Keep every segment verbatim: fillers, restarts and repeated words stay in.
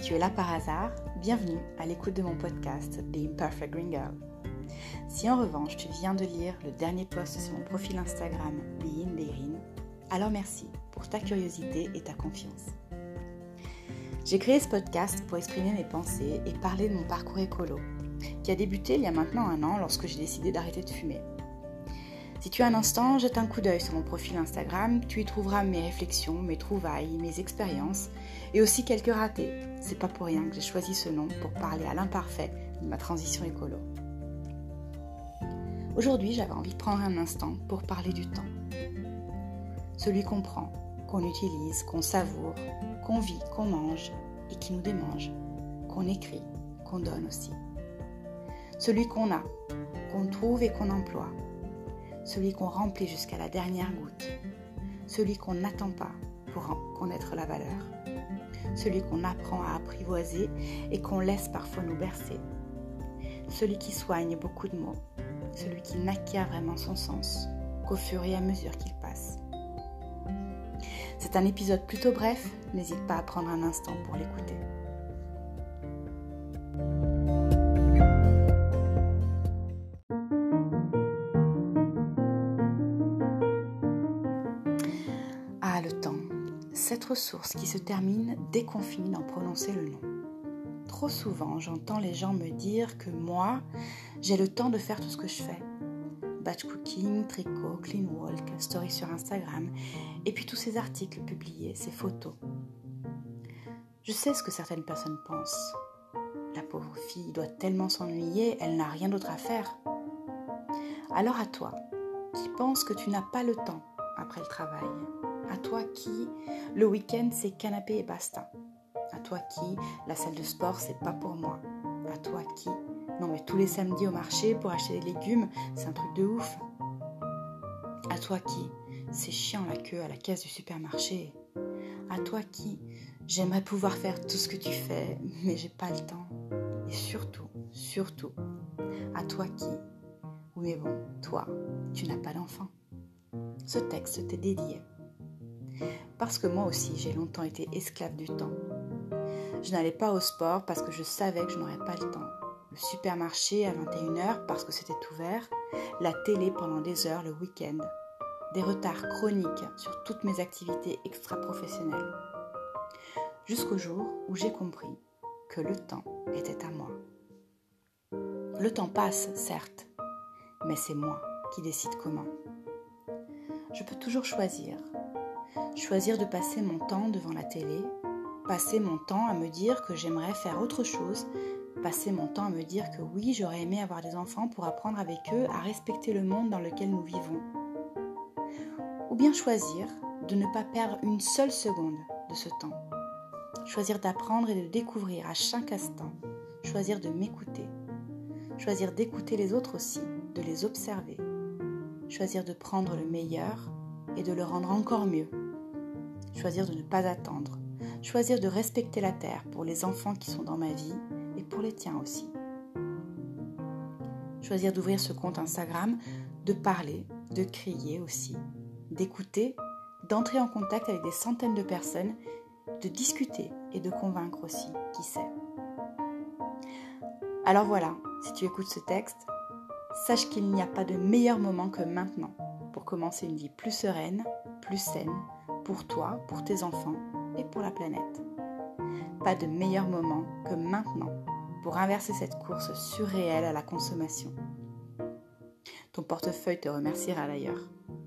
tu es là par hasard, bienvenue à l'écoute de mon podcast The Imperfect Green Girl. Si en revanche tu viens de lire le dernier post sur mon profil Instagram Being Berin, alors merci pour ta curiosité et ta confiance. J'ai créé ce podcast pour exprimer mes pensées et parler de mon parcours écolo, qui a débuté il y a maintenant un an lorsque j'ai décidé d'arrêter de fumer. Si tu as un instant, jette un coup d'œil sur mon profil Instagram, tu y trouveras mes réflexions, mes trouvailles, mes expériences et aussi quelques ratés. C'est pas pour rien que j'ai choisi ce nom pour parler à l'imparfait de ma transition écolo. Aujourd'hui, j'avais envie de prendre un instant pour parler du temps. Celui qu'on prend, qu'on utilise, qu'on savoure, qu'on vit, qu'on mange et qui nous démange, qu'on écrit, qu'on donne aussi. Celui qu'on a, qu'on trouve et qu'on emploie. Celui qu'on remplit jusqu'à la dernière goutte, celui qu'on n'attend pas pour en connaître la valeur, celui qu'on apprend à apprivoiser et qu'on laisse parfois nous bercer, celui qui soigne beaucoup de mots, celui qui n'acquiert vraiment son sens qu'au fur et à mesure qu'il passe. C'est un épisode plutôt bref, n'hésite pas à prendre un instant pour l'écouter. Ah, le temps, cette ressource qui se termine dès qu'on finit d'en prononcer le nom. Trop souvent, j'entends les gens me dire que moi, j'ai le temps de faire tout ce que je fais. Batch cooking, tricot, clean walk, story sur Instagram, et puis tous ces articles publiés, ces photos. Je sais ce que certaines personnes pensent. La pauvre fille doit tellement s'ennuyer, elle n'a rien d'autre à faire. Alors à toi, qui penses que tu n'as pas le temps après le travail, à toi qui, le week-end, c'est canapé et basta. À toi qui, la salle de sport, c'est pas pour moi. À toi qui, non mais tous les samedis au marché pour acheter des légumes, c'est un truc de ouf. À toi qui, c'est chiant la queue à la caisse du supermarché. À toi qui, j'aimerais pouvoir faire tout ce que tu fais, mais j'ai pas le temps. Et surtout, surtout, à toi qui, oui mais bon, toi, tu n'as pas d'enfant. Ce texte t'est dédié. Parce que moi aussi, j'ai longtemps été esclave du temps. Je n'allais pas au sport parce que je savais que je n'aurais pas le temps. Le supermarché à vingt et une heures parce que c'était ouvert. La télé pendant des heures le week-end. Des retards chroniques sur toutes mes activités extra-professionnelles. Jusqu'au jour où j'ai compris que le temps était à moi. Le temps passe, certes, mais c'est moi qui décide comment. Je peux toujours choisir. Choisir de passer mon temps devant la télé, passer mon temps à me dire que j'aimerais faire autre chose, passer mon temps à me dire que oui, j'aurais aimé avoir des enfants pour apprendre avec eux à respecter le monde dans lequel nous vivons. Ou bien choisir de ne pas perdre une seule seconde de ce temps. Choisir d'apprendre et de découvrir à chaque instant. Choisir de m'écouter. Choisir d'écouter les autres aussi, de les observer. Choisir de prendre le meilleur et de le rendre encore mieux. Choisir de ne pas attendre. Choisir de respecter la terre pour les enfants qui sont dans ma vie et pour les tiens aussi. Choisir d'ouvrir ce compte Instagram, de parler, de crier aussi, d'écouter, d'entrer en contact avec des centaines de personnes, de discuter et de convaincre aussi, qui sait. Alors voilà, si tu écoutes ce texte, sache qu'il n'y a pas de meilleur moment que maintenant pour commencer une vie plus sereine, plus saine, pour toi, pour tes enfants et pour la planète. Pas de meilleur moment que maintenant pour inverser cette course surréelle à la consommation. Ton portefeuille te remerciera d'ailleurs.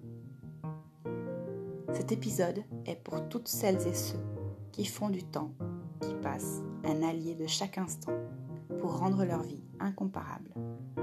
Cet épisode est pour toutes celles et ceux qui font du temps, qui passent, un allié de chaque instant pour rendre leur vie incomparable.